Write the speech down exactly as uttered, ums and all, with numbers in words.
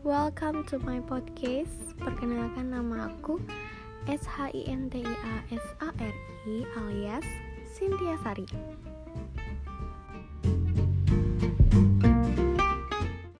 Welcome to my podcast. Perkenalkan, nama aku S H I N T I A S A R I alias Cynthia Sari.